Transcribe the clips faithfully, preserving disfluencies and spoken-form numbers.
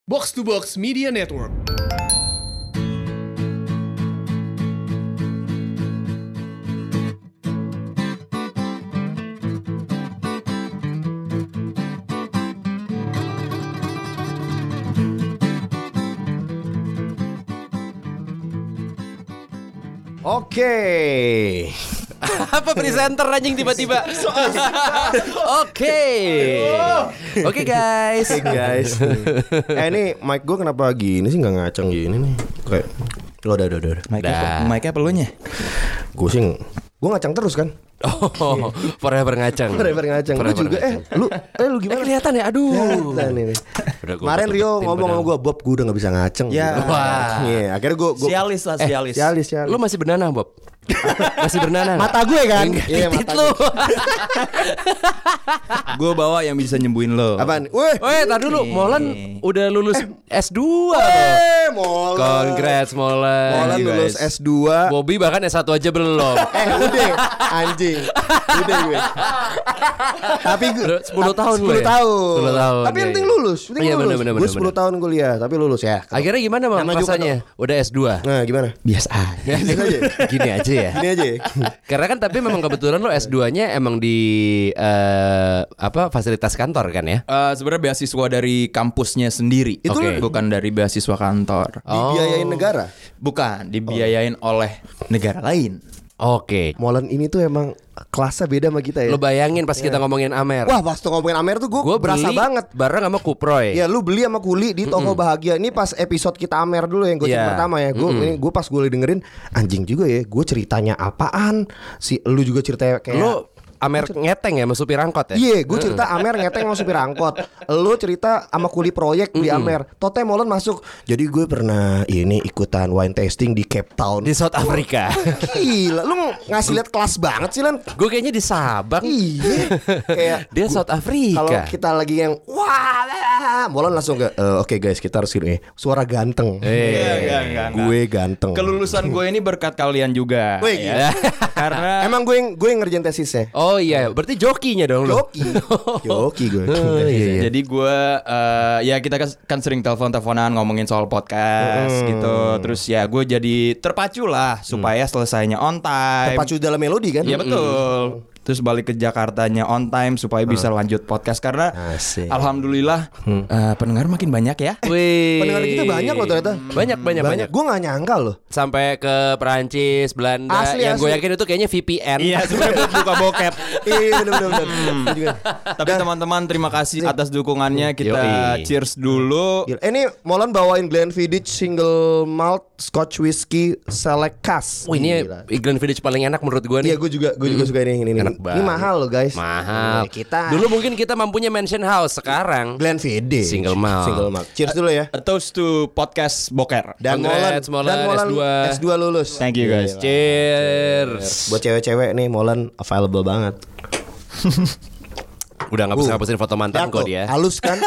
Box to Box Media Network. Oke. Apa presenter anjing tiba-tiba. Oke. Oke guys. Oke guys. Eh ini mic gue kenapa gini sih, nggak ngaceng gini nih? Kayak lo udah udah udah. Dah. Mic-nya pelunya. Gue sih gue ngaceng terus kan. Oh, forever ngaceng. Forever ngaceng. Lu Forever juga eh ngaceng. lu eh lu Eh, gimana? kelihatan ya, aduh. Kelihatan ini. Udah gua Kemarin Rio tutup-tutupin ngomong sama padahal. gue, Bob, gue udah nggak bisa ngaceng. Ya. Gitu. Wah. Iya, akhirnya gue gue Sialis lah, sialis. sialis sialis. Lu masih bernanah, Bob? Masih bernanah? Mata gue kan? Enggak, Iya, titit mata lu. Gue bawa yang bisa nyembuhin lo. Apaan? Weh. Weh, tar dulu. Molan udah lulus S dua. Eh, Molan. Congrats Molan. Molan Thank you, lulus guys. S dua. Bobby bahkan S satu aja belum. Eh udah anjing. Udah gue. Tapi gue Udah sepuluh tahun lu sepuluh ya? tahun. sepuluh tahun, Tapi yang iya, penting iya. lulus. Penting Iya, lulus. bener, bener, Gue bener, sepuluh tahun kuliah tapi lulus ya. Akhirnya gimana Bang Nama juga rasanya? Udah S dua. Nah, gimana? Biasa aja. Gini aja. Gini aja ya. Gini aja. Karena kan tapi memang kebetulan lo S dua-nya emang di eh, apa fasilitas kantor kan ya? Eh, sebenarnya beasiswa dari kampusnya sendiri. Itu Oke. bukan dari beasiswa kantor. Dibiayain negara. Bukan, dibiayain oleh negara lain. Oke. Molan ini tuh emang kelasnya beda sama kita ya. Lo bayangin pas kita ngomongin Amer. Wah, pas tuh ngomongin Amer tuh gue Gue berasa beli banget. bareng sama Kuproy. Ya lu beli sama Kuli di toko Bahagia. Ini pas episode kita Amer dulu yang gue Iya. pertama ya. Gue ini gue pas gue dengerin anjing juga ya. Gue ceritanya apaan? Si lu juga ceritanya kayak Lo Amer ngeteng ya sama supir angkot ya? Iya, gue cerita Amer ngeteng sama supir angkot. Lu cerita sama kuli proyek di Amer. Tote Molen masuk. Jadi gue pernah ini ikutan wine tasting di Cape Town. Di South Africa. Gila, lu ngasih lihat kelas banget sih Lan. Gue kayaknya di Sabang. Iya. Kayak Dia South Africa. kalau kita lagi yang wah, lah, Molen langsung ke "Eh, oke guys, kita harus gini. Suara ganteng. Eh, Enggak, enggak, enggak. Gue ganteng. Kelulusan gue ini berkat kalian juga. Wih, ya. Karena Emang gue yang gue yang ngerjain tesisnya. Oh iya, berarti jokinya dong lo. Joki. Joki gue. Oh, iya, iya. Jadi gue eh, ya kita kan, kan sering telepon-teleponan ngomongin soal podcast gitu. Terus ya gue jadi terpacu lah supaya selesainya on time. Terpacu dalam melodi kan? Iya betul. Terus balik ke Jakartanya on time supaya bisa lanjut podcast karena Asik. alhamdulillah eh, pendengar makin banyak ya. Wih. Pendengar kita banyak loh ternyata. Banyak banyak banyak. Gue gak nyangka loh. Sampai ke Perancis, Belanda. Asli, yang gue asli. yakin itu kayaknya V P N. Iya sebenarnya buat buka bokep. Iya bener-bener. Juga. Tapi teman-teman terima kasih atas dukungannya. Kita Yoi. cheers dulu. Gila. Eh, ini Molan bawain Glenfiddich single malt Scotch whiskey select cask. Wah ini Gila. Glenfiddich paling enak menurut gue nih. Iya gue juga gue juga suka ini ini. Ini, Enak ini banget. mahal loh guys. Mahal. Iya, kita Dulu mungkin kita mampunya mansion house, sekarang Glenfiddich Single malt. Single malt. Cheers dulu ya. A toast to podcast boker. Dan Molan, Congrats, Molan, dan Molan S dua. S dua lulus. Thank you guys. Gila. cheers. Buat cewek-cewek nih Molan available banget. Udah ngapus-ngapusin foto mantan kok tuh, dia. halus kan?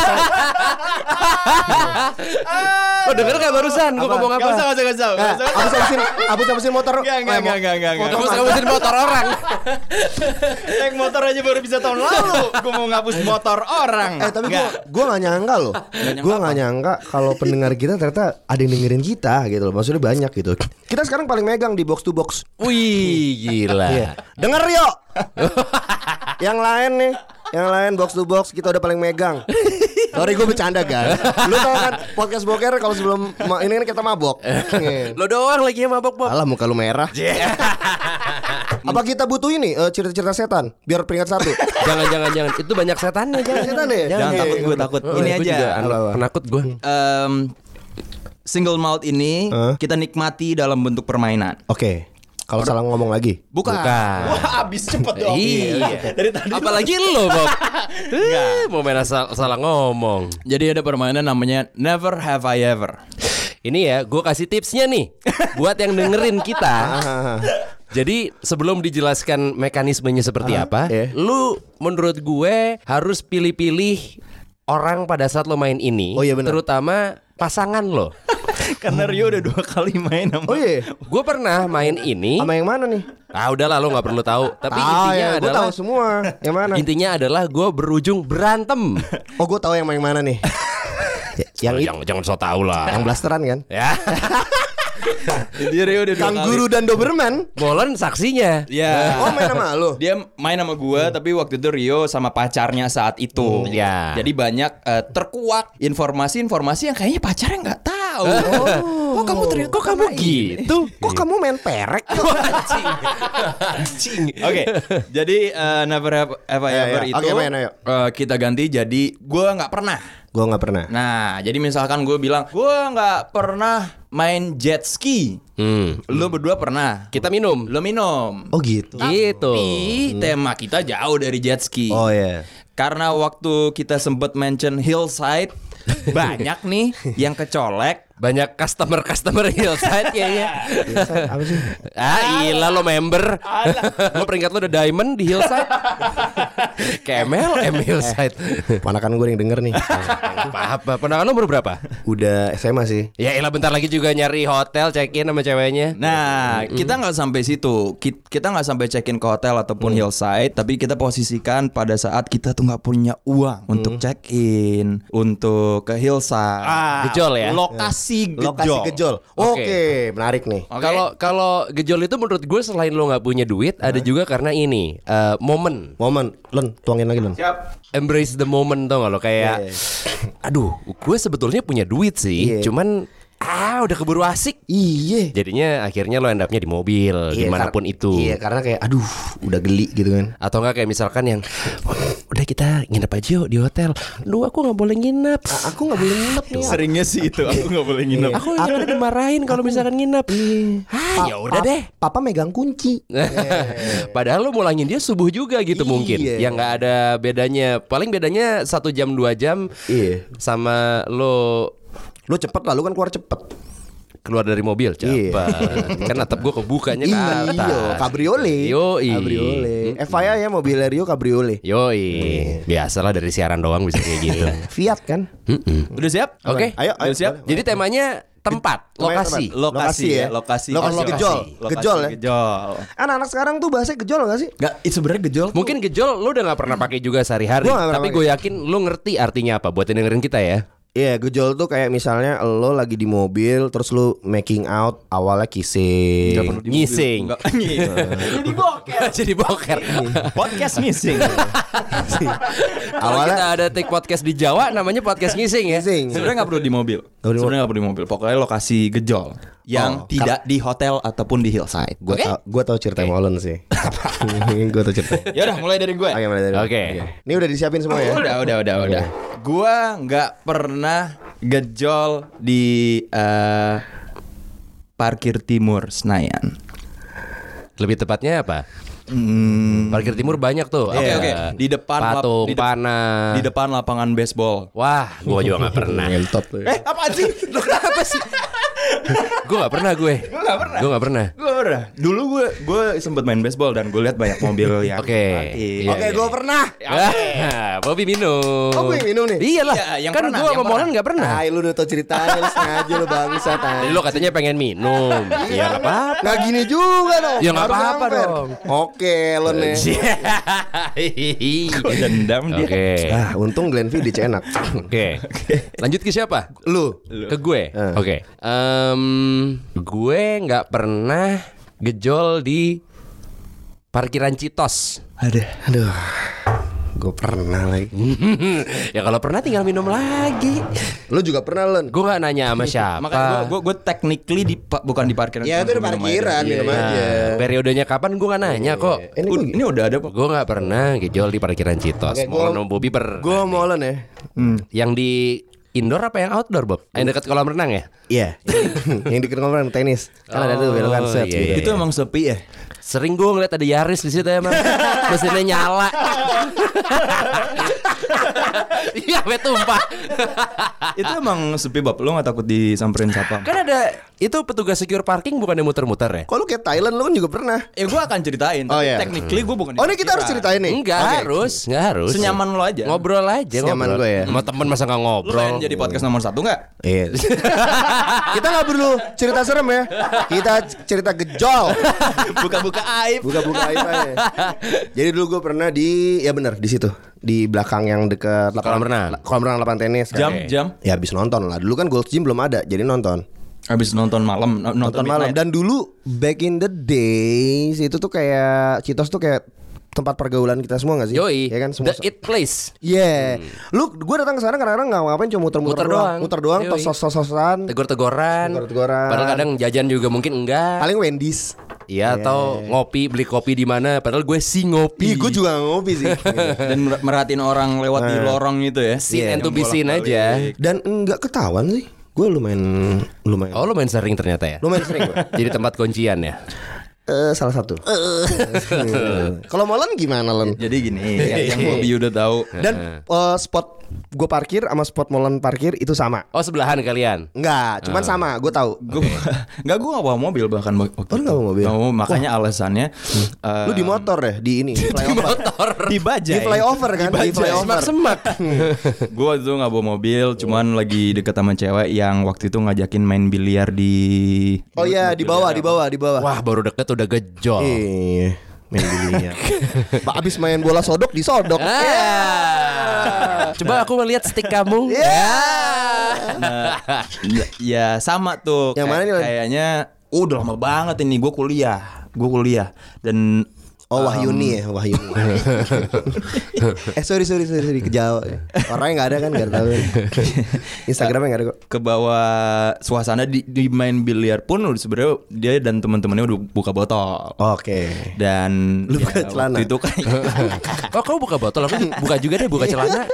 Lo denger gak barusan gue ngomong apa? Gak usah, gak usah, gak usah. Nah, abis-abisin abis-abisin motor. Enggak, enggak, Eh, enggak, enggak, enggak, enggak. Ngapus-ngapusin motor orang. Naik motor aja baru bisa tahun lalu. Gue mau ngapus motor orang. Eh tapi gue Enggak. gue nggak nyangka loh. Gue nggak nyangka kalau pendengar kita ternyata ada yang dengerin kita gitu loh. Maksudnya banyak gitu. Kita sekarang paling megang di box to box. Wih gila. Iya. Denger yuk. Yang lain nih, yang lain box to box kita udah paling megang. Sorry gue bercanda guys. Lu tau kan podcast boker kalau sebelum ma- ini kan kita mabok. Lo doang lagi yang mabok Bob. Alah muka lu merah. Apa kita butuh ini eh, cerita-cerita setan biar peringkat satu? Jangan jangan jangan. Itu banyak setannya jangan. Setan ya? Jangan Iya, takut iya, gue iya. takut. Oh, Ini gue aja. juga anak Apa-apa? penakut gue. Em, single malt ini Huh? kita nikmati dalam bentuk permainan. Oke. Kalau salah ngomong lagi. Bukan. Bukan. Wah, abis cepet dong. Iya. Dari tadi. Apalagi lo Bob. Eh, mau main asal salah ngomong. Jadi ada permainan namanya Never Have I Ever. Ini ya, gue kasih tipsnya nih buat yang dengerin kita. Jadi sebelum dijelaskan mekanismenya seperti apa, iya. lu menurut gue harus pilih-pilih orang pada saat lo main ini. Oh iya benar. Terutama pasangan lo. Karena Rio udah dua kali main sama. Oh iya. Gue pernah main ini. Sama yang mana nih? Ah udahlah lo nggak perlu tahu. Tapi Ah, intinya ya, gue adalah tahu semua. Yang mana? intinya adalah gue berujung berantem. Oh gue tahu yang yang mana nih. Yang itu, jangan jangan so tau lah. yang blasteran kan? Ya. Dia Rio udah dua Kangguru kali. dan Doberman. Molen saksinya. Ya. Oh main sama lu? Dia main sama gua tapi waktu itu Rio sama pacarnya saat itu. Ya. Jadi banyak eh, terkuak informasi-informasi yang kayaknya pacarnya nggak tahu. Oh, kamu ternyata Kok kamu gitu? Kok kamu main perek? Anjing. Anjing. Oke, jadi uh, never have ever Ya, ever ya. itu Oke, main, ayo. uh, kita ganti jadi gue nggak pernah. Gue nggak pernah. Nah, jadi misalkan gue bilang gue nggak pernah main jet ski, Hmm. lo berdua pernah. Kita minum. Lo minum. Oh gitu. Gitu. Tapi tema kita jauh dari jet ski. Oh ya. Karena waktu kita sempet mention hillside, banyak nih yang kecolek. Banyak customer-customer Hillside kayaknya. Apa sih? Ah, ilah lo member. Lo peringkat lo udah diamond di Hillside. Kemel M Hillside. Ponakan gue yang denger nih. Apa-apa. Ponakan lo umur berapa? Udah S M A sih. Ya ilah bentar lagi juga nyari hotel check-in sama ceweknya. Nah, kita nggak sampai situ. Ki- Kita nggak sampai check-in ke hotel ataupun hillside, tapi kita posisikan pada saat kita tuh nggak punya uang untuk check-in, untuk ke hillside. Ah, gejol ya? Lokasi gejol. Lokasi gejol. Oke, Oke. menarik nih. Oke. Kalau kalau gejol itu menurut gue selain lo nggak punya duit, ada juga karena ini eh, momen. Momen, Len, tuangin lagi Len. Siap. Embrace the moment tau gak lo kayak, Iya, aduh, gue sebetulnya punya duit sih, Iya. cuman ah udah keburu asik. Iya. Jadinya akhirnya lo end up-nya di mobil, Iya, dimanapun kar- itu. Iya, karena kayak aduh, udah geli gitu kan. Atau enggak kayak misalkan yang udah kita nginep aja yuk di hotel. Duh aku nggak boleh nginep. A- aku nggak boleh nginep nih. Seringnya sih itu aku nggak boleh nginep. Aku yang ada dimarahin kalau misalkan nginep. Ah ya udah deh. Papa megang kunci. Padahal lo mulangin dia subuh juga gitu Iya. mungkin. Yang nggak ada bedanya. Paling bedanya satu jam dua jam. Iya. Sama lo Lu cepet lah, lu kan keluar cepet. keluar dari mobil Iya. cepet. Kan atap gue kebukanya ke Iya, atas. kabriolet. Yoi. Kabriolet. F Y I ya mobil Rio kabriolet. Yoi. Biasalah dari siaran doang bisa kayak gitu. Fiat kan? Mm-mm. Udah siap? Oke. Ayo, ayo. Udah siap? Jadi temanya tempat, lokasi. Tempat. Lokasi ya, Lokasi lokasi. Oh, lokasi. gejol. Lokasi Gejol ya. Gejol. Anak-anak sekarang tuh bahasa gejol gak sih? Nggak, itu sebenarnya gejol. tuh- Mungkin gejol lu udah gak pernah pakai juga sehari-hari. Gua nggak pernah Tapi pakai. gue yakin lu ngerti artinya apa buat yang dengerin kita ya. Iya, gejol tuh kayak misalnya lo lagi di mobil terus lu making out, awalnya kissing. Nggak perlu di mobil. Ngising. Nggak, Jadi boker. Jadi boker. Podcast missing. Kalau Awalnya- kita ada take podcast di Jawa namanya podcast ngising ya. Kissing. Sebenarnya nggak perlu di mobil. Nggak perlu di Sebenarnya nggak perlu di mobil. Pokoknya lokasi gejol yang Oh, tidak di hotel ataupun di hillside. Gua Oke. tau, gua tau cerita Molen sih. Gua tau cerita. Ya udah, mulai dari gue. Oke, mulai dari. Oke. Ini udah disiapin semua ya? Udah, udah, udah, udah. Gua nggak pernah gejol di eh, parkir timur Senayan. Lebih tepatnya apa? Hmm, Parkir timur banyak tuh. Oke, Ada oke. Di depan lap- patung, di dep- panah. di depan lapangan baseball. Wah, gue juga gak pernah. Ngentot tuh. Eh, apa sih? Lo kenapa sih? Gue gak pernah gue. Gue nggak pernah. Gue gak pernah. Gue pernah. Dulu gue gue sempet main baseball dan gue lihat banyak mobil yang Oke. parkir. Iya, Oke, iya. gua pernah. Ah, Bobby minum. Oh, gue yang minum nih? Iyalah. Iya, yang kan pernah, gue yang sama Molen pernah. gak pernah. Nah, lu udah tau ceritanya, lu sengaja lu bangsa Jadi lo katanya pengen minum. Ya gak apa-apa. Nggak gini juga dong. Ya, nggak Harus apa-apa yang fair. dong. Oke, lo nih. Kok dendam dia. Oke. Ah, untung Glenn V D C enak. Oke. Lanjut ke siapa? Lu. Ke gue. Eh. Oke. Em, gue nggak pernah gejol di parkiran Citos. Ada. Aduh. Gue pernah lagi. Ya kalau pernah tinggal minum lagi. Lu juga pernah, Len? Gue nggak nanya sama siapa. Makanya gue gue gue technically di pa- bukan di parkiran. Ya, itu di Minum parkiran, aja. minum Iya, aja. iya. Nah, periodenya kapan gue nggak nanya kok. Eh, Ini Ud- gue Ini udah ada kok. Gue nggak pernah gejol di parkiran Citos. Oke, Mau gua- sama Bobby per. Gue mau Len ya. Yang di indoor apa yang outdoor Bob? Yang dekat kolam renang ya? Iya. Yang deket kolam tenis. Kan ada tuh belokan set iya, gitu. iya. Itu emang sepi ya. Sering gue ngeliat ada Yaris di situ emang. Mesinnya nyala. Iya, sampai tumpah. Itu emang sepi Bob. Lo gak takut disamperin satpam? Kan ada itu petugas secure parking bukan yang muter-muter ya? Kok lu kayak Thailand, lu kan juga pernah. Ya gue akan ceritain. Oh, Tapi iya. technically gue bukan. di Oh, ini kita harus parkiran. ceritain nih. Enggak Oke. harus, enggak harus. Senyaman lo aja. Ngobrol aja, Senyaman ngobrol. gue ya. Sama temen masa nggak Lo ngobrol? pengen jadi podcast nomor satu gak? Iya. Kita nggak perlu cerita serem ya. Kita cerita gejol. Buka-buka aib. Buka-buka aib aja. Jadi dulu gue pernah di, ya benar, di situ di belakang yang dekat Kolam renang. kolam renang lapangan tenis kan. Jam jam Ya habis nonton lah. Dulu kan Gold's Gym belum ada, jadi nonton. habis nonton malam no- Nonton nonton malam. midnight. Dan dulu back in the days itu tuh kayak Citos tuh kayak tempat pergaulan kita semua gak sih? Yoi, Ya kan semua. the it place. Yeah. Lu gue datang ke sana kadang-kadang nggak ngapain, cuma muter-muter Muter doang. Muter doang, Yoi. tos tos-tosan. Tegur-teguran. Tegur-teguran. Padahal kadang jajan juga mungkin enggak. Paling Wendy's. Iya, atau ngopi, beli kopi di mana? Padahal gue sih ngopi. Ih, gue juga ngopi sih. Dan mer- merhatiin orang lewat di lorong gitu ya. Seen Iya, and to be seen aja. Dan enggak ketahuan sih. Gue lumayan lumayan Oh, lu main sering ternyata ya. lumayan sering gue. Jadi tempat kuncian ya. Eh, salah satu. Kalau Molen gimana Len? Jadi gini, ya, yang Bobby udah tahu. Dan eh, spot gue parkir sama spot Molen parkir itu sama. Oh, sebelahan kalian. Enggak, cuman sama. Gue tahu. Gue nggak gue nggak bawa mobil bahkan waktu Oh, lu nggak bawa mobil? Nggak bawa, makanya alasannya eh, Lu di motor deh, di ini. Flyover. Motor. di Di bajai. flyover kan? Di flyover. Semak-semak. Gue waktu itu nggak bawa mobil, cuman lagi deket sama cewek yang waktu itu ngajakin main biliar di. Oh iya, di bawah, di bawah, di bawah. Wah, baru deket udah gejol. Iya, main biliar. Ba- Abis main bola sodok disodok. Ah. Coba aku melihat stick kamu. Nah, ya sama tuh. Yang mana nih, Len? Kayaknya oh, udah lama banget ini gue kuliah, gue kuliah dan Oh Wahyuni ya, Wahyuni. eh sorry sorry sorry, sorry. Kejauh. Orangnya nggak ada kan, nggak tahu. Instagramnya nggak ada kok. ke bawah suasana di, di main biliar pun udah sebenarnya dia dan teman-temannya udah buka botol. Oke. Dan Lu buka celana? waktu itu kan Oh, kamu buka botol, aku buka juga deh, buka celana.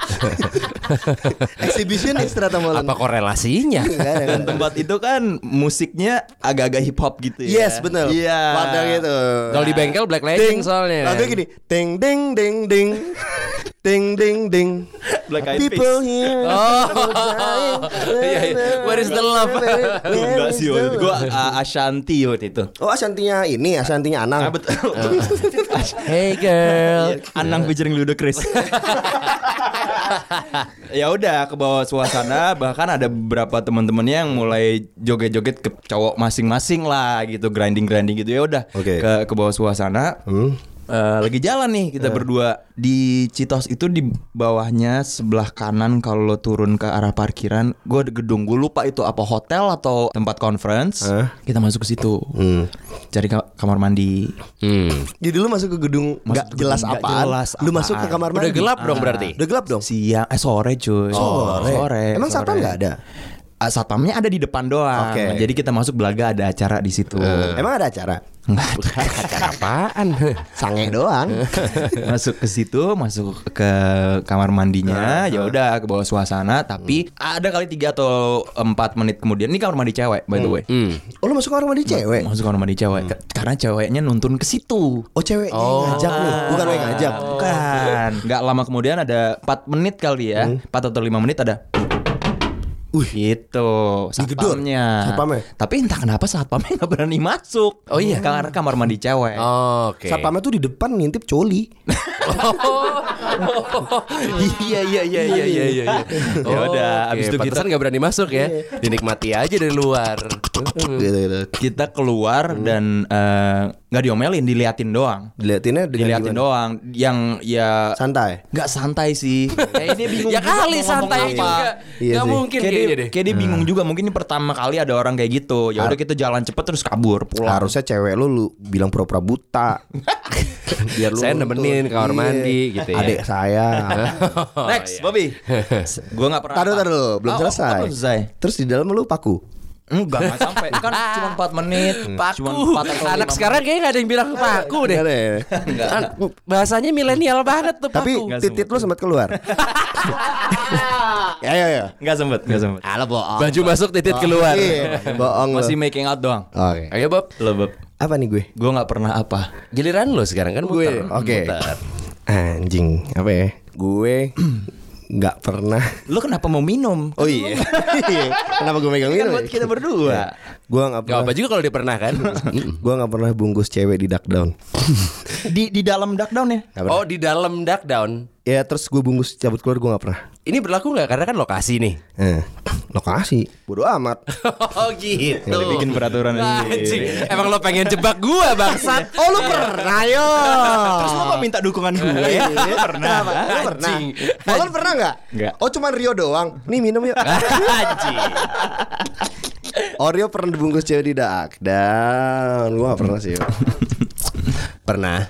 Exhibition extra Molen. Apa korelasinya? Nggak ada, nggak dan ada. tempat itu kan musiknya agak-agak hip hop gitu ya. Yes betul. Iya. Wadah gitu. Kalau di bengkel Black Legend soalnya. Lagu gini, ding ding ding ding, ding ding ding. Black Eyed People Peas. here. Oh. Iya, iya. Where is the love? Enggak sih waktu itu gue uh, Ashanti waktu itu. Oh Ashantinya ini, Ashantinya Anang. Ah, betul. Hey girl. Anang featuring Ludacris. Ya udah ke bawah suasana, bahkan ada beberapa teman-temannya yang mulai joget-joget ke cowok masing-masing lah gitu, grinding-grinding gitu. Ya udah Oke. ke ke bawah suasana. Hmm. Eh, lagi jalan nih kita berdua di Citos itu, di bawahnya sebelah kanan kalau lo turun ke arah parkiran, gue ada gedung, gue lupa itu apa hotel atau tempat conference. Eh? Kita masuk ke situ, Hmm. cari ka- kamar mandi. Hmm. Jadi lu masuk ke gedung nggak Masuk jelas gedung nggak apaan. jelas Lu masuk ke apaan. kamar mandi. Udah gelap dong berarti. Udah gelap dong. Siang, eh sore cuy. Sore. sore. Emang sore. satpam nggak ada? Ah, satpamnya ada di depan doang. Oke. Jadi kita masuk belaga ada acara di situ. Emang ada acara? Nggak ada. Acara apaan? Sange doang. Masuk ke situ, masuk ke kamar mandinya, ya udah ke bawah suasana. Tapi ada kali tiga atau empat menit kemudian, ini kamar mandi cewek by the way. Hmm. Oh lu masuk kamar mandi cewek? Masuk kamar mandi cewek Ke- karena ceweknya nuntun ke situ. Oh ceweknya yang ngajak nih, bukan lo yang ngajak. Bukan. Nggak lama kemudian ada empat menit kali ya, empat atau lima menit ada. Wih, Gitu Digedor satpamnya. satpamnya. Tapi entah kenapa satpamnya nggak berani masuk. Oh iya? Karena kamar mandi cewek. Oke. satpamnya tuh di depan ngintip coli. Iya iya iya iya iya iya. Ya udah, abis itu kita- kita nggak berani masuk ya. Dinikmati aja dari luar. Gitu gitu. Kita keluar dan eh, nggak diomelin, diliatin doang. Diliatinnya dengan Diliatin gimana? doang. Yang ya Santai. nggak santai sih. Kayak dia bingung. Ya juga kali mau santai ngomong apa. juga. Iya Gak sih. mungkin Kayak kayaknya dia, deh. kayak dia bingung juga. Mungkin ini pertama kali ada orang kayak gitu. Ya udah kita jalan cepet terus kabur pulang. Harusnya cewek lu lu bilang pura-pura buta. Biar lu Saya nuntut. nemenin ke kamar Iya. mandi gitu ya. Adik saya. Next, Bobby. Gue nggak pernah. Taruh apa. taruh belum Oh, selesai. oh, belum selesai. Terus di dalam lu paku. Enggak, nggak sampai. Kan cuma empat menit. Paku. Cuma empat atau Anak lima sekarang kayaknya gak ada yang bilang paku deh. Nggak ada ya? An- Bahasanya milenial banget tuh Tapi paku. titit lu sempat keluar. Ya ya ya. Nggak sempet, nggak sempet. Halo bohong. Baju masuk titit keluar. Iya, bohong lu. Masih making out doang. Oke. Ayo Bob. Lo Bob. Apa nih gue? Gue nggak pernah apa. Giliran lo sekarang kan Gue. muter. Oke. Muter. Anjing, apa ya? Gue nggak pernah. Lo kenapa mau minum? Oh iya. Kenapa gue megang Kan minum? buat kita berdua. Gue nggak Gak pernah. apa juga kalau dia pernah kan. Gue nggak pernah bungkus cewek di duck down. Di di dalam duck down ya? Nggak pernah. Oh di dalam duck down. Ya terus gue bungkus cabut keluar gue nggak pernah. Ini berlaku nggak? Karena kan lokasi nih. Eh, lokasi bodo amat. Oh gitu. Udah bikin peraturan Anjing. ini. Emang lo pengen jebak gua bangsat. Oh lu pernah yo. Terus lo kok minta dukungan gue? Lu pernah? Lu pernah? Anjing. Molen pernah nggak? Nggak. Oh cuman Rio doang. Nih minum yuk. Anjing. Oh Rio pernah dibungkus cewek di dak. Dan gue gak pernah sih. Pernah.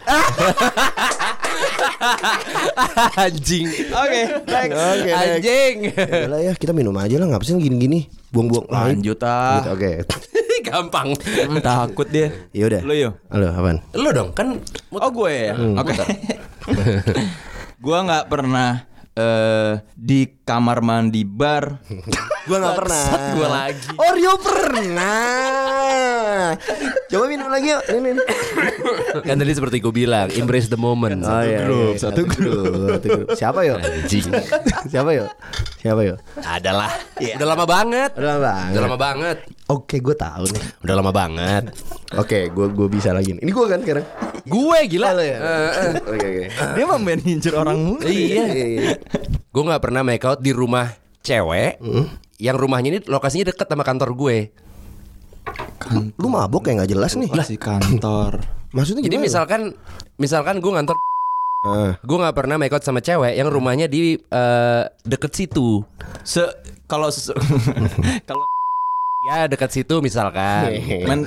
Anjing. Oke, next. Oke, next. Anjing. Yalah ya kita minum aja lah. Ngapa sih gini-gini? Buang-buang. Lanjut ah. Gitu, Oke. Gampang. Hmm, takut dia. Yaudah. Lo yo. Halo apaan? Lo dong kan. Oh gue ya. Oke. Gue nggak pernah eh di kamar mandi bar. Gue gak pernah. Gue lagi. Oh Rio pernah. Coba minum lagi yuk. Ini, ini. Kan tadi seperti gue bilang, embrace the moment. Oh, iya, grup, iya. satu grup, satu grup. Siapa yo? Anjing. Siapa yo? Siapa yo? Adalah. Udah lama banget. Udah lama banget. Udah lama banget. Oke, gue tahu nih. Udah lama banget. Oke, gue gue bisa lagi. Nih. Ini gue kan sekarang. Gue gila. Halo ya. Oke oke. Dia mau manajer orang mulu. Iya. Gue nggak pernah make out di rumah cewek. Yang rumahnya ini lokasinya deket sama kantor gue. Lu mabok kayak nggak jelas nih. Lah si kantor. Maksudnya Jadi gimana? misalkan, misalkan gue ngantor, Ah. gue nggak pernah make out sama cewek yang rumahnya di eh, deket situ. Se kalau se- kalau Ya deket situ misalkan. men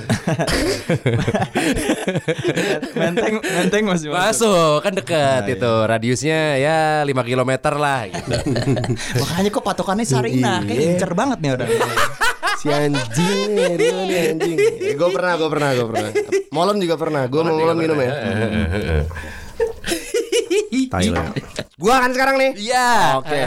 menteng menteng masih masuk. Masuk kan deket itu radiusnya ya lima kilometer lah gitu. Makanya kok patokannya Sarina, kayak incer banget nih orang. Si anjing nih, Rio nih anjing. Gue pernah, gue pernah, gue pernah. Molen juga pernah. Gue mau molen minum ya. Thailand. Gua kan sekarang nih. Iya. Oke.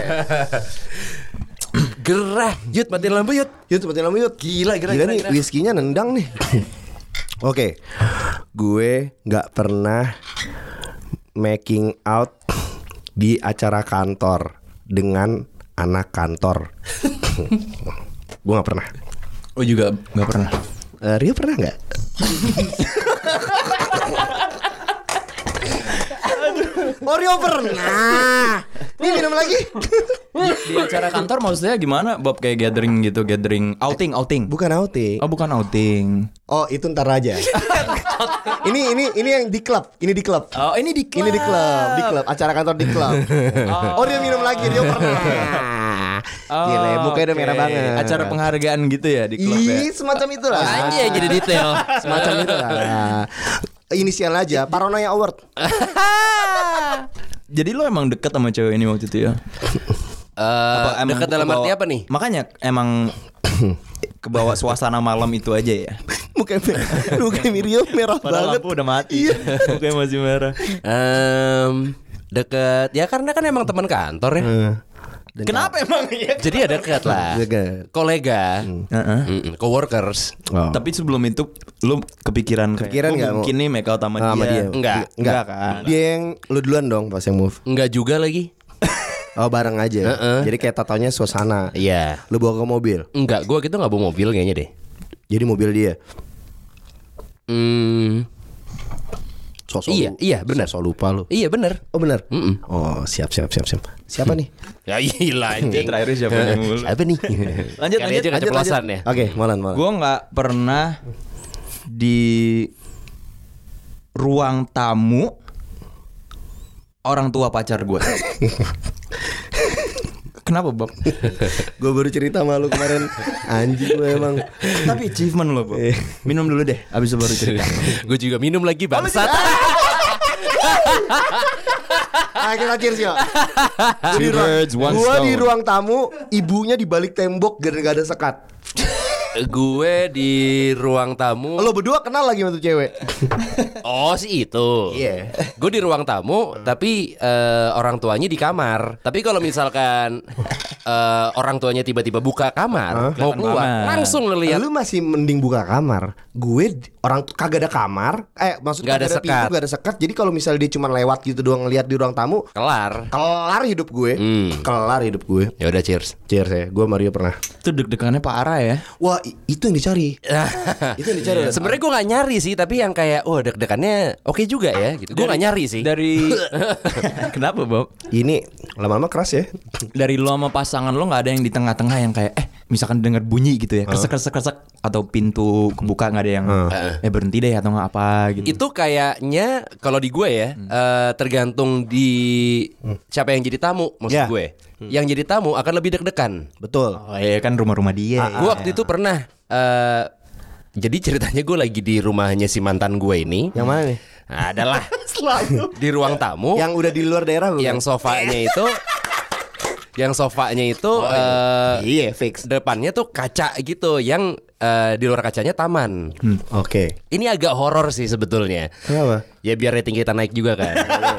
Gerah, Yud matiin lampu Yud. Yud seperti lampu Yud. Gila, gila, Gila gila, nih, gila. whisky-nya nendang nih. Oke. Gue nggak pernah making out di acara kantor dengan anak kantor. Gue nggak pernah. Oh juga nggak pernah. Eh, Rio pernah nggak? Oh Rio pernah. Nih minum lagi. Di acara kantor maksudnya gimana? Bob kayak gathering gitu, gathering outing, outing. Bukan outing. Oh bukan outing. Oh itu ntar aja. Ini ini ini yang di klub. Ini di klub. Oh ini di Ini di klub, di klub, acara kantor di klub. Oh, dia minum lagi, dia pernah. Gila, mukanya udah merah banget. Acara penghargaan gitu ya di klub ya. Ih, semacam itulah. Aja jadi detail. Semacam itulah. Inisial aja, Paranoia Award. Jadi lo emang deket sama cewek ini waktu itu ya? Eh, emang dekat dalam kebawa- arti apa nih? Makanya emang kebawa suasana malam itu aja ya. Mukanya mukanya Miriam merah banget. udah mati. Mukanya masih merah. Em, deket ya karena kan emang teman kantor ya. Dan Kenapa emang ya? Jadi ya deket lah. Deket. Kolega, Heeh. Mm-mm, coworkers. Oh. Tapi sebelum itu lu kepikiran kayak, Kepikiran "Oh, nggak mungkin nih make out sama Ah, sama dia. dia. Enggak. Enggak kan? Dia yang lu duluan dong pas yang move. Enggak juga lagi. Oh, bareng aja. Heeh. Jadi kayak tatonya suasana. Iya. Lu bawa ke mobil. Enggak, gua gitu nggak bawa mobil kayaknya deh. Jadi mobil dia. Hmm, Sosok Iya, lu- iya, benar. Sosok lupa lu. iya bener. Oh benar. Mm-mm. Oh siap siap siap siap. Siapa nih? Ya gila Dia anjing. terakhir siapa yang mulu? Siapa nih? Lanjut, Kali lanjut, aja keceplosan ya. Oke, Molan Molan. Gue nggak pernah di ruang tamu orang tua pacar gue. Kenapa Bob? Gue baru cerita sama lu kemarin. Anjing lu emang. Tapi achievement lo Bob. Minum dulu deh, abis itu baru cerita. Gue juga minum lagi bangsat. Ah, kita cheers yuk. Two birds, one Gua stone. di ruang tamu, ibunya di balik tembok dan gak ada sekat. Gue di ruang tamu. Lo berdua kenal lagi sama tuh cewek. Oh sih itu. Iya. Gue di ruang tamu, tapi eh, orang tuanya di kamar. Tapi kalau misalkan eh, orang tuanya tiba-tiba buka kamar mau keluar, kamar. langsung lu lihat. Lu masih mending buka kamar. Gue d- orang tuh kagak ada kamar. Eh maksudnya Nggak ada kagak ada pintu, sekat. gak ada sekat. Jadi kalau misalnya dia cuma lewat gitu doang ngeliat di ruang tamu, Kelar. kelar hidup gue. Hmm. Kelar hidup gue. Ya udah cheers. Cheers ya. Gue Mario pernah. Itu deg-degannya parah ya. Wah, i- itu yang dicari. Itu yang dicari. Sebenarnya gue nggak nyari sih, tapi yang kayak, oh deg-degannya oke juga ya, gitu. Gue nggak nyari sih. Dari kenapa Bob? Ini lama-lama keras ya. Dari lo sama pasangan lo nggak ada yang di tengah-tengah yang kayak eh misalkan dengar bunyi gitu ya, kresek kresek kresek atau pintu kebuka nggak ada yang eh berhenti deh atau nggak apa gitu. Itu kayaknya kalau di gue ya, eh, tergantung di siapa yang jadi tamu, maksud Ya. gue. Yang jadi tamu akan lebih deg-degan. Betul. Oh iya kan rumah-rumah dia. Gue waktu itu pernah. eh, jadi ceritanya gue lagi di rumahnya si mantan gue ini. Yang mana nih? Nah, adalah di ruang tamu. Yang udah di luar daerah bukan? Yang sofanya itu, yang sofanya itu eh, Iya, fix. depannya tuh kaca gitu, yang eh, di luar kacanya taman. Oke. Ini agak horor sih sebetulnya. Kenapa? Ya biar rating kita naik juga kan.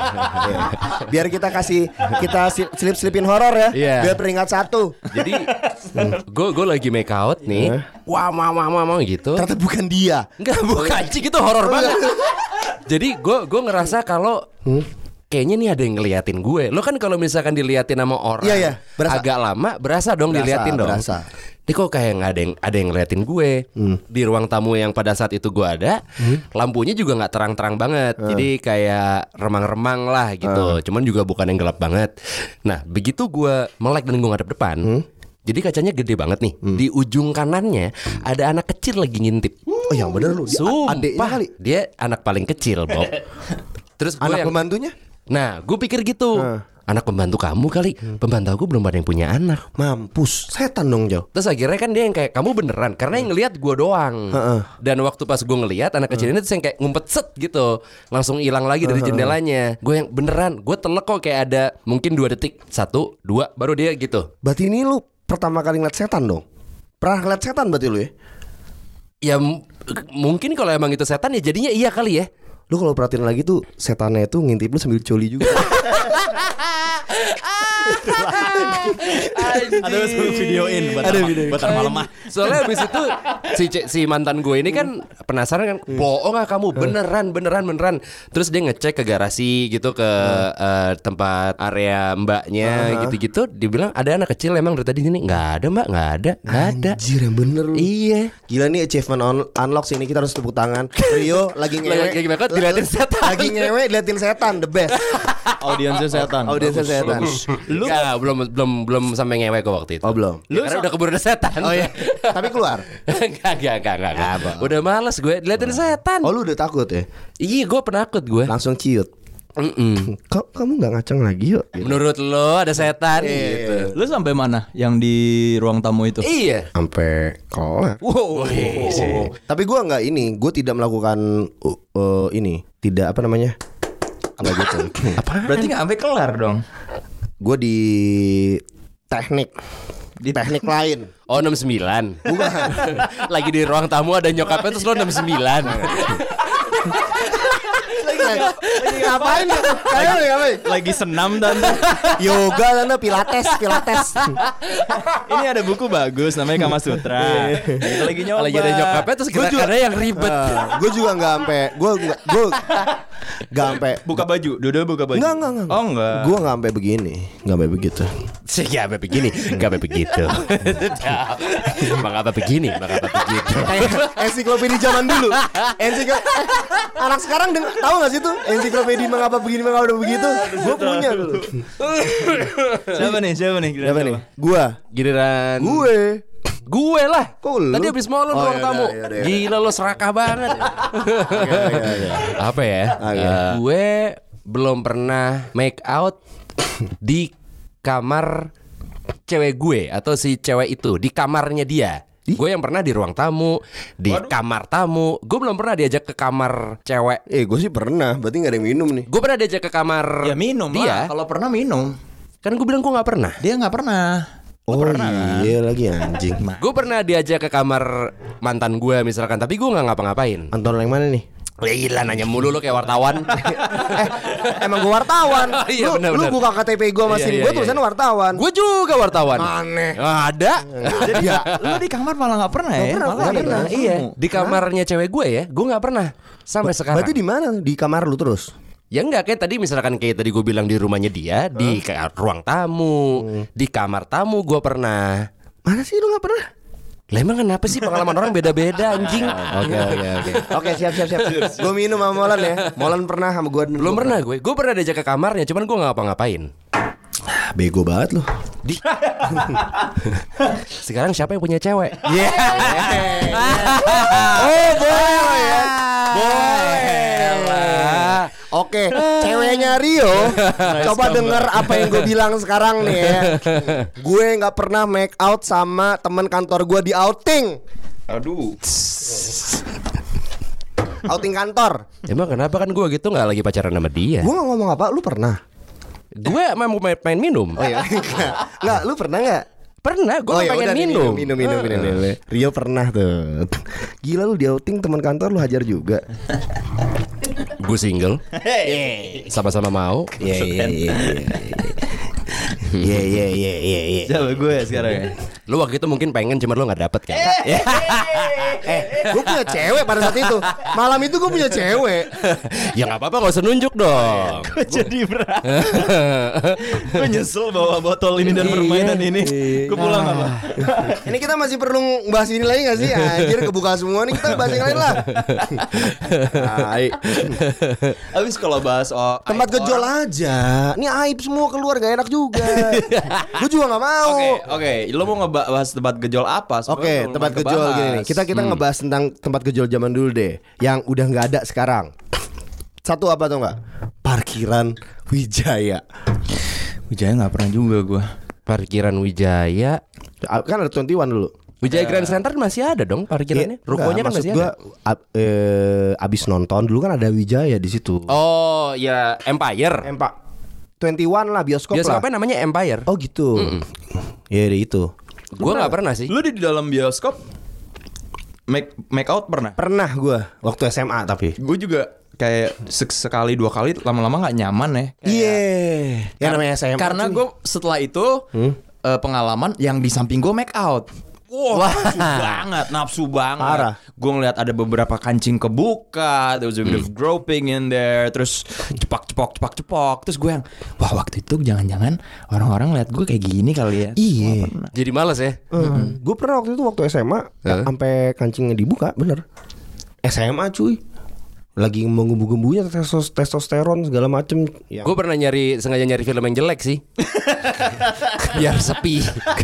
Biar kita kasih kita si- selip-selipin horor ya. Iya. Biar peringkat satu. Jadi gue gue lagi make out nih, wah wah wah wah wah gitu. Ternyata bukan dia. Enggak, bukan anjing, itu horor banget. Jadi gue gue ngerasa kalau kayaknya nih ada yang ngeliatin gue. Lo kan kalau misalkan diliatin sama orang Iya, iya, berasa. agak lama, berasa dong Berasa, diliatin dong. berasa. Ini kok kayak nggak ada yang ada yang ngeliatin gue di ruang tamu yang pada saat itu gue ada. Lampunya juga nggak terang-terang banget, jadi kayak remang-remang lah gitu. Cuman juga bukan yang gelap banget. Nah begitu gue melek dan gue ngadep depan. Jadi kacanya gede banget nih. Di ujung kanannya ada anak kecil lagi ngintip. Oh yang bener lu. Dia Sumpah, adeknya kali. dia anak paling kecil, Bob. Terus gue Anak yang, pembantunya? nah, gue pikir gitu. Anak pembantu kamu kali. Pembantu aku belum ada yang punya anak. Mampus. Setan dong Jauh. Terus akhirnya kan dia yang kayak, kamu beneran? Karena yang ngelihat gue doang. Dan waktu pas gue ngelihat anak kecil ini tuh yang kayak ngumpet set gitu, langsung hilang lagi dari jendelanya. Gue yang beneran, gue telek kok kayak ada mungkin dua detik, satu, dua, baru dia gitu. Berarti ini lu pertama kali ngeliat setan dong? Pernah ngeliat setan berarti lu ya? Ya m- mungkin kalau emang itu setan ya jadinya iya kali ya. Lu kalau perhatiin lagi tuh setannya itu ngintip lu sambil coli juga. Ada videoin buat Ada ama- videoin. buat malam mah. Soalnya abis itu si ce- si mantan gue ini kan penasaran kan, bohong gak kamu, beneran beneran beneran. Terus dia ngecek ke garasi gitu, ke eh, tempat area mbaknya gitu-gitu. Dia bilang ada anak kecil emang dari tadi sini. Nggak ada mbak, nggak ada, nggak ada. Anjir yang bener lu. Iya. Gila nih achievement on, unlock sini, kita harus tepuk tangan. Rio lagi ngewe. Lagi ngewe, diliatin setan. Lagi ngewe diliatin setan, the best. Audiensnya setan. Audiensnya setan. Lu Nggak, belum belum belum sampai ngewe kok waktu itu. Oh belum. Ya, karena udah keburu ada setan. Oh iya. Tapi keluar. Enggak, enggak, enggak, enggak, enggak. Udah males gue diliatin setan. Oh lu udah takut ya? Iya, gue penakut gue. Langsung ciut. Mm-mm. Kok kamu nggak ngaceng lagi yuk? Gitu. Menurut lo ada setan gitu. Lu sampai mana yang di ruang tamu itu? Iya. Sampai kelar. Wow. Tapi gua nggak ini, gue tidak melakukan uh, uh, ini, tidak apa namanya? Apa gitu? Apa? Berarti nggak sampai kelar dong. Gue di teknik, di teknik lain. Oh enam puluh sembilan. Bukan. Lagi di ruang tamu ada nyokapnya terus lo enam puluh sembilan. Lagi ngapain? Kayak ngapain? Lagi senam dan Yoga tante, pilates, pilates. ini ada buku bagus namanya Kama Sutra. Itu lagi nyoba. Lagi ada nyokapnya terus gerakannya yang ribet. Gue juga nggak sampai, gue nggak, gue nggak sampai. buka baju, Dodo buka baju. Enggak, enggak, enggak. Oh enggak. Gue nggak sampai begini, nggak sampai begitu. Sih gak apa begini, gak apa begitu. Bang apa begini, bang apa begitu. Kayak ensiklopedia zaman dulu. Ensiklo eh, anak sekarang deng- tahu nggak sih tuh ensiklopedia mengapa begini mengapa begitu? Gue punya dulu. Siapa nih? Siapa nih? Kira-kira Siapa nih? Gua. Giliran Gue. gue lah. Kok lu? Tadi habis mau lo Oh, ruang yaudah, tamu. yaudah, yaudah. Gila lo serakah banget. Apa ya? Oke. Eh, gue belum pernah make out di kamar cewek gue atau si cewek itu, di kamarnya dia. Gue yang pernah di ruang tamu, di kamar tamu. Gue belum pernah diajak ke kamar cewek. Eh, gue sih pernah. Berarti nggak ada yang minum nih. Gue pernah diajak ke kamar Ya minum dia. lah. Kalau pernah minum. Kan gue bilang gue nggak pernah. Dia nggak pernah. Oh iya lagi anjing. Gue pernah diajak ke kamar mantan gue misalkan, tapi gue nggak ngapa-ngapain. Anton yang mana nih? Ya gila nanya mulu lu kayak wartawan. eh, emang gue wartawan. Iya, lu, bener, lu bener. buka K T P gue Iya, masih iya, gue iya. tulisannya wartawan. Gue juga wartawan. Aneh. Ada. Jadi lu di kamar malah nggak pernah ya? pernah, Malah nggak di pernah. rumah. Iya, di kamarnya cewek gue ya, gue nggak pernah sampai sekarang. Berarti di mana? Di kamar lu terus? Ya enggak, kayak tadi misalkan kayak tadi gue bilang di rumahnya dia, di kayak ruang tamu, di kamar tamu gue pernah. Mana sih lu nggak pernah? Lah emang kenapa sih pengalaman orang beda-beda anjing? Oke oke oke. Oke siap siap siap. Gue minum sama Molan ya. Molan pernah sama gue. Belum pernah gue. Gue pernah diajak ke kamarnya, cuman gue nggak ngapa-ngapain. Bego banget lu. Di... Sekarang siapa yang punya cewek? Yeah. Oh boleh ya. Boleh lah. Oke, ceweknya Rio, coba denger apa yang gue bilang sekarang nih ya. Gue nggak pernah make out sama teman kantor gue di outing. Aduh. Outing kantor. Emang kenapa kan gue gitu nggak lagi pacaran sama dia? Gue nggak ngomong apa, lu pernah? Gue emang mau main, main minum. Oh iya, nggak, lu pernah nggak? Pernah, gue Oh ya pengen udah nih, minum. minum minum minum minum. Rio pernah tuh. Gila lu di outing teman kantor lu hajar juga. Gue single, sama-sama mau. Iya iya iya. Iya iya iya iya iya. Coba gue sekarang ya. Lu waktu itu mungkin pengen, cuma lu nggak dapet kan? Eh, gue punya cewek pada saat itu. Malam itu gue punya cewek. Ya nggak apa-apa, nggak usah nunjuk dong. Jadi berat. Gue nyesel bawa botol ini dan permainan ini. Gue pulang apa? Ini kita masih perlu bahas ini lagi gak sih? Anjir kebuka semua nih, kita bahas yang lain lah. Hai. Habis kalau bahas oh, Tempat gejol aja. Ini aib semua keluar, gak enak juga. Gue juga gak mau. Oke, oke. Lo mau ngebahas tempat gejol apa? Sebenarnya Oke, belum tempat ngebahas. gejol gini nih. Kita kita ngebahas tentang tempat gejol zaman dulu deh, yang udah nggak ada sekarang. Satu apa tuh nggak? Parkiran Wijaya. Wijaya nggak pernah juga gue. Parkiran Wijaya. Kan ada dua puluh satu dulu. Wijaya Grand Center masih ada dong parkirannya. Iya, Rukonya kan enggak, masih maksud gua, ada. ab- eh, abis nonton dulu kan ada Wijaya di situ. Oh ya, Empire. Empat dua puluh satu lah bioskop, Bioskopnya lah. namanya Empire. Oh gitu. Iya deh itu. Gue nggak pernah sih. Lu di dalam bioskop make make out pernah? Pernah gue waktu S M A tapi. Gue juga kayak sek- sekali dua kali lama-lama nggak nyaman ya. Iya. Yang namanya S M A. Karena cuy. gue setelah itu eh, pengalaman yang di samping gue make out. Wah, nafsu banget, nafsu banget. Parah. Gue ngeliat ada beberapa kancing kebuka, there was a bit of groping in there, terus cepak cepok cepak cepok, terus gue yang, wah waktu itu jangan-jangan orang-orang lihat gue kayak gini kali ya. Iya. Jadi males ya. Hmm. Gue pernah waktu itu waktu S M A Hah? sampai kancingnya dibuka, bener. S M A cuy. Lagi menggembu-gembunya testosteron, testosteron segala macem. Ya. Gue pernah nyari sengaja nyari film yang jelek sih. Biar sepi.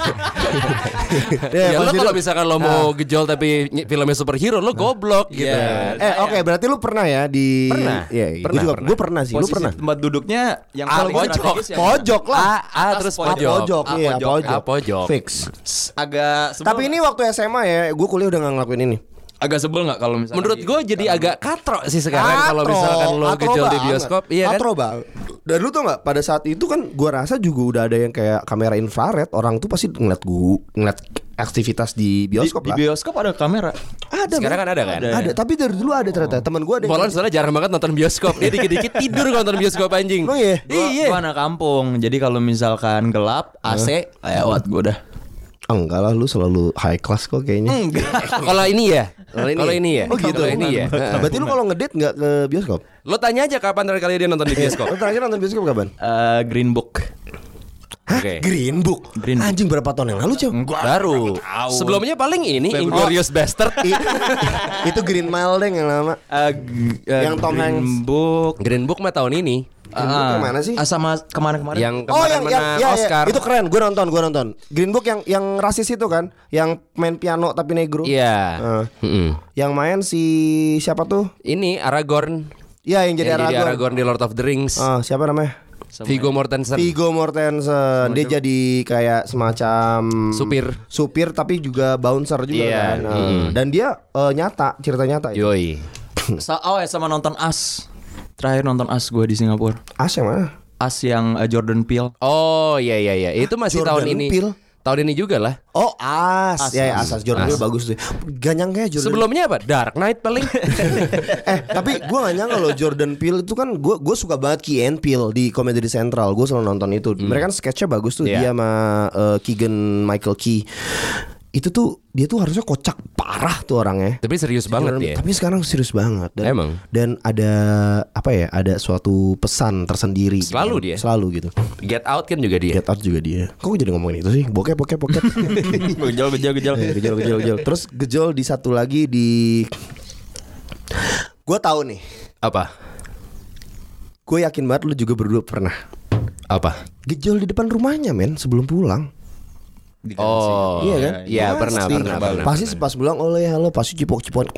Ya, Ya lo pasti kalau lu- misalkan lo mau gejol tapi ny- filmnya superhero lo goblok gitu. Iya. Eh oke berarti lu pernah ya di Pernah. Iya, Pernah, gue juga pernah. gue pernah sih. Lu Posisi pernah? tempat duduknya yang Ah, paling pojok. strategis ya. Pojok lah. A, A terus pojok. pojok. Pojok, Ah, iya pojok. pojok. Ah, pojok. Fix. Agak sebel. Tapi ini waktu S M A ya, gue kuliah udah gak ngelakuin ini. agak sebel nggak kalau misalnya Menurut di- gue jadi agak katro sih sekarang kalau Katro, misalkan lo katro gejol di banget. bioskop, iya kan? Katro banget. Dan lu tau gak, pada saat itu kan gue rasa juga udah ada yang kayak kamera infrared. Orang tuh pasti ngeliat gue ngeliat aktivitas di di, bioskop di lah. bioskop ada kamera. Ada Sekarang men. kan ada kan? Ada, tapi dari dulu ada ternyata. Teman gue ada yang Molan soalnya jarang banget nonton bioskop. Dia dikit-dikit tidur kalau nonton bioskop anjing. Oh iya? Gua, Iya. gua anak kampung. Jadi kalau misalkan gelap, A C, lewat gue udah. enggak lah, lu selalu high class kok kayaknya. Enggak. Kalau ini ya, kalau ini ya, Oh gitu. kalau ini ya. Nah, berarti lu kalau ngedate nggak ke bioskop? Lo tanya aja kapan terakhir kali dia nonton di bioskop. Lu terakhir nonton bioskop kapan? Eh, Green Book. Hah? Oke. Green Book. Green Book. Anjing berapa tahun yang lalu, Cok? Baru. Sebelumnya paling ini Inglourious Bastard. I- itu Green Mile deh yang lama. Eh, g- eh, Yang Tom Green Hanks. Book. Green Book mah tahun ini. Green Book yang mana sih? Ah, sama kemana-kemarin? Yang Oh kemarin yang yang menang ya, ya, Oscar. itu keren, gue nonton, gue nonton. Green Book yang yang rasis itu kan, yang main piano tapi negro. Iya. Eh, Mm-mm. yang main si siapa tuh? Ini Aragorn. Ya yang jadi Yang jadi Aragorn. Aragorn di Lord of the Rings. Ah, siapa namanya? Viggo Mortensen. Viggo Mortensen. Dia jadi kayak semacam Supir. supir tapi juga bouncer juga Iya, kan. Eh, mm. Dan dia eh, nyata, cerita nyata. itu. Yoi. Sa- oh ya sama nonton As. Terakhir nonton As gue di Singapura. As yang mana? As yang eh, Jordan Peele. Oh iya iya iya. Itu masih Jordan tahun ini. Peele? tahun ini juga lah. Oh As, ya, ya Asas Jordan Peele bagus tuh. Gak nyangka ya Jordan. Sebelumnya apa? Dark Knight paling. eh tapi gue gak nyangka loh Jordan Peele itu kan gue gue suka banget Key and Peele di Comedy Central. Gue selalu nonton itu. Hmm. Mereka kan sketchnya bagus tuh yeah. dia sama uh, Keegan Michael Key. Itu tuh dia tuh harusnya kocak parah tuh orangnya. Tapi serius banget ya. Tapi sekarang serius banget. Dan, Emang. Dan ada apa ya? Ada suatu pesan tersendiri. Selalu gitu. dia. Selalu gitu. Get Out kan juga dia. Get Out juga dia. Kok gue jadi ngomongin itu sih? Bokep bokep bokep. Gejol gejol gejol. Gejol gejol gejol. Terus gejol di satu lagi di. Gue tahu nih. Apa? Gue yakin banget lu juga berdua pernah. Apa? Gejol di depan rumahnya men sebelum pulang. Oh, iya kan? Iya pernah, Pasti. pernah, pernah. Pasti pas bilang oleh halo pasti cipok-cipok.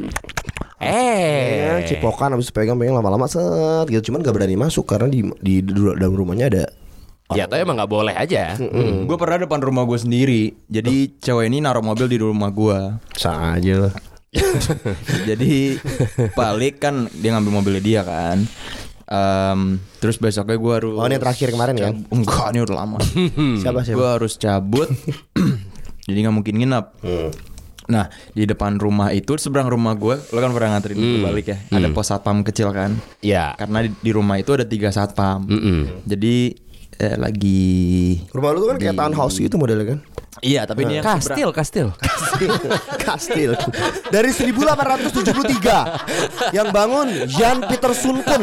Eh, Ya, cipokan habis pegang pegang lama-lama set gitu. Cuman gak berani masuk karena di di, di dalam rumahnya ada. ya tuh emang nggak boleh aja. Gue pernah depan rumah gue sendiri. Jadi cewek ini naruh mobil di rumah gue. Sah aja lah. Jadi balik kan dia ngambil mobilnya dia kan. Um, terus besoknya gue harus. Oh ini yang terakhir kemarin kan? Enggak, ini udah lama. Siapa siapa? Gue harus cabut. Jadi nggak mungkin nginep. Hmm. Nah di depan rumah itu seberang rumah gue, lo kan pernah nganterin gue balik ya. Ada pos satpam kecil kan. Ya. Karena di, di rumah itu ada tiga satpam. Mm-mm. Jadi eh, lagi. Rumah lu tuh kan kayak townhouse gitu modelnya kan? Iya tapi ini yang Kastil, kastil. Kastil. Dari seribu delapan ratus tujuh puluh tiga yang bangun Jan Peter Sunken.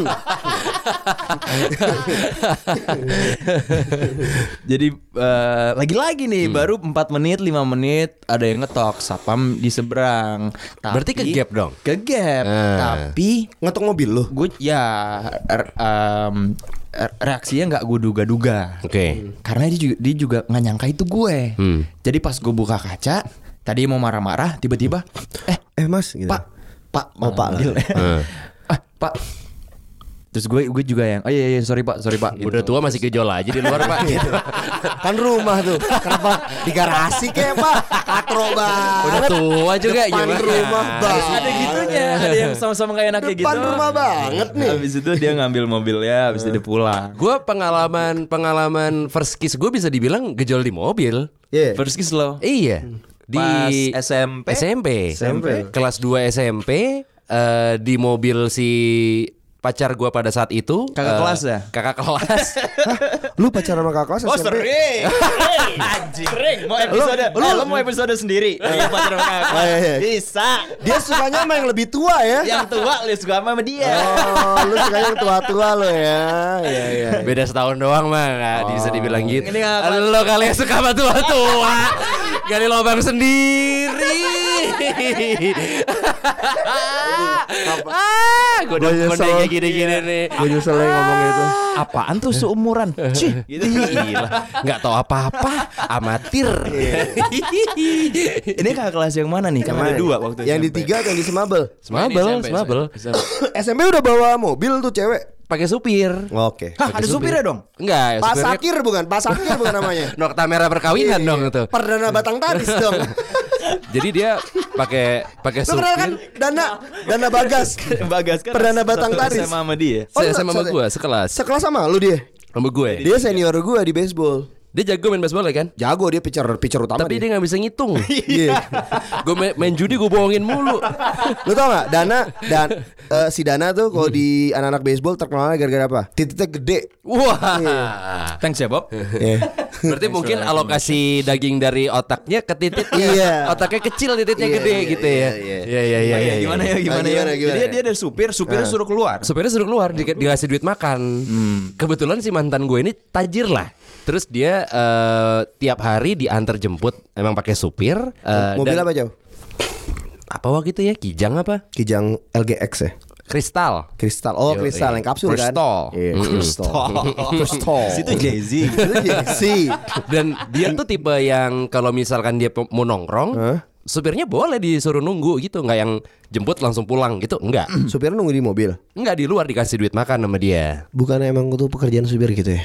Jadi eh, lagi-lagi nih baru empat menit lima menit ada yang ngetok satpam di seberang. Tapi, Berarti ke gap dong? Ke gap. Ah. Tapi Ngetok mobil lu. gue ya er, em, er, reaksinya nggak gue duga-duga. Oke. Karena dia juga dia juga nggak nyangka itu gue. Hmm. Jadi pas gue buka kaca, tadi mau marah-marah, tiba-tiba, eh Eh mas gitu. Pak, Pak, Oh, Pak. manggil. Eh. ah Pak. Terus gue gue juga yang, oh iya iya sorry Pak, sorry Pak. Udah tua masih gejol aja di luar pak. Gitu. Kan rumah tuh. Kenapa di garasi kayak Pak? Katro banget. Udah tua juga Depan gimana? rumah banget. Ada gitunya, ada yang sama-sama kayak enak kayak gitu. Depan rumah banget nih. Habis itu dia ngambil mobilnya, habis itu dia pulang. Gue pengalaman pengalaman first kiss gue bisa dibilang gejol di mobil. Iya. First kiss lo. Iya. Di Pas S M P? S M P. S M P. Kelas dua S M P eh, di mobil si pacar gua pada saat itu. Kakak eh, kelas ya? Kakak kelas. Lu pacaran sama kakak kelas Oh S M P? sering, sering, anjing, sering. Mau episode, Lu- eh, lo mau episode sendiri? Iya, pacaran sama kakak. Oh, iya, iya. Bisa. Dia sukanya sama yang lebih tua ya? Yang tua lu suka sama dia. Oh, lu sukanya yang tua-tua lo ya. Iya iya. Beda setahun doang mah nggak bisa dibilang gitu. Ini apa? Lo kali yang suka sama tua-tua. Gali lubang sendiri. ah, gue udah Gua nyesel. kode kayak gini-gini nih. Gue nyesel ya ngomong itu. Apaan tuh seumuran? Cih, Gitu. Gila, nggak tahu apa-apa, amatir. Ini kakak kelas yang mana nih? Kan ada dua waktu Yang di S M P. tiga atau yang di Semabel? Semabel, semabel. S M P udah bawa mobil tuh cewek. Pakai supir. Oke. Hah, ada supirnya dong? Enggak, Pak supirnya Sakir bukan? Pak Sakir bukan namanya. Nokta merah perkawinan dong itu. Perdana Batang Taris dong. Jadi dia pakai pakai Lu kenal kan supir. Dana Dana Bagas. Bagas kan Perdana Batang satu Taris. S M A sama dia. Saya enggak, sama satu- gue sekelas. Sekelas sama lu dia. Sama gue. Dia senior gua di baseball. Dia jago main baseball ya kan? Jago dia pitcher pitcher utama Tapi dia nggak bisa ngitung. Iya. Gue main, main judi gue bohongin mulu. Lu tau gak Dana dan eh, si Dana tuh kalau di anak-anak baseball terkenalnya gara-gara apa? Titiknya gede. Wah. Thanks ya Bob. Iya. Berarti mungkin alokasi daging dari otaknya ke titiknya. Iya. Otaknya kecil, titiknya Iya, gede iya, gitu ya. iya, Iya iya iya. iya. Gimana ya gimana, Ah, gimana, ya? gimana? Jadi dia ada supir, supirnya suruh keluar. Supirnya suruh keluar di, dikasih duit makan. Kebetulan si mantan gue ini tajir lah. Terus dia eh, tiap hari diantar jemput, emang pakai supir. eh, Mobil dan- apa jauh? Apa waktu itu ya? Kijang apa? Kijang L G X ya. Kristal. Kristal. Oh, Yo, kristal iya. yang kapsul kan. Crystal. Iya, kristal. Kristal. Situ Jay-Z. Itu Jay-Z. Dan dia tuh tipe yang kalau misalkan dia pe- mau nongkrong, Hah? supirnya boleh disuruh nunggu gitu, nggak yang jemput langsung pulang gitu, enggak. Supirnya nunggu di mobil. Enggak, di luar dikasih duit makan sama dia. Bukannya emang itu pekerjaan supir gitu ya?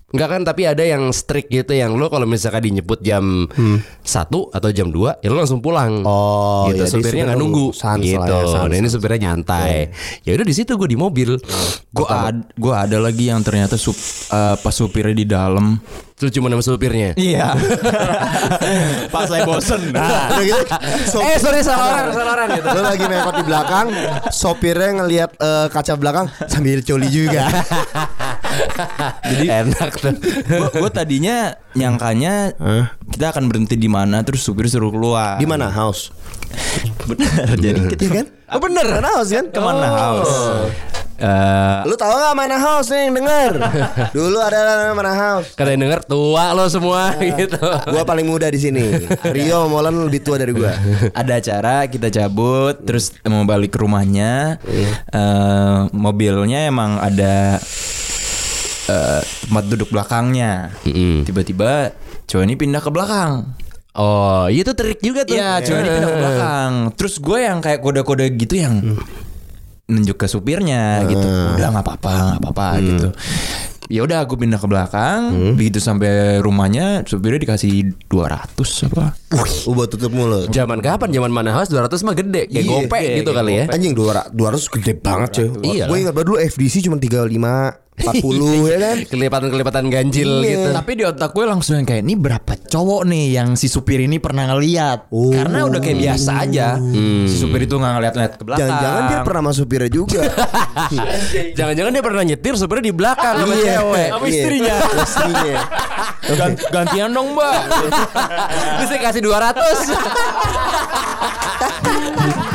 Enggak kan, tapi ada yang strict gitu, yang lo kalau misalkan dijemput jam satu atau jam dua, ya lo langsung pulang. Oh, gitu. jadi Supirnya nggak supirnya nunggu sans gitu. lah ya, sans, Nah ini sans. supirnya nyantai. Ya udah di situ gue di mobil. Gue ad, gue ada lagi yang ternyata sup, uh, pas supirnya di dalam. Terus cuma nama supirnya. Iya. Pas saya bosen. Nah, udah gitu. Sop- Eh sorry salah orang, salah orang gitu. Lo lagi mepet di belakang, sopirnya ngelihat eh, kaca belakang sambil coli juga. Jadi enak tuh. Gue tadinya nyangkanya kita akan berhenti di mana, terus supir suruh keluar. Di mana house? Bener. Jadi kita Iya kan? Oh bener, mana house kan? kemana Oh. house? Eh, Lu tahu nggak mana house nih yang denger? Dulu ada mana house. Kata yang denger tua lo semua gitu. Gua paling muda di sini. Rio sama Molan lebih tua dari gua. ada acara kita cabut, terus mau balik ke rumahnya. Eh, mobilnya emang ada eh, tempat duduk belakangnya. Mm-mm. Tiba-tiba cowok ini pindah ke belakang. Oh, itu trik juga tuh. Iya, cowok ini pindah ke belakang. Terus gue yang kayak kode-kode gitu yang nunjuk ke supirnya gitu. Udah nggak apa-apa, nggak apa-apa gitu. Ya udah aku pindah ke belakang. Begitu sampai rumahnya, supirnya dikasih dua ratus apa? Uh, buat tutup mulut. Zaman kapan? Zaman mana house dua ratus mah gede. Kayak Iya, gopek iya, gitu kayak kali ya. Anjing dua ratus gede banget cuy. Iya Gue lah. ingat banget dulu F D C cuma tiga puluh lima, empat puluh ya kan. Kelipatan-kelipatan ganjil Iya. gitu. Tapi di otak gue langsung yang kayak, ini berapa cowok nih yang si supir ini pernah ngeliat? Oh. Karena udah kayak biasa aja. Si supir itu nggak ngeliat-ngeliat ke belakang. Jangan-jangan dia pernah sama supirnya juga. Jangan-jangan dia pernah nyetir supirnya di belakang sama Iya. cewek. Sama Iya. istrinya. Istrinya. Gan- gantian dong mbak. Terus saya kasih dua ratus.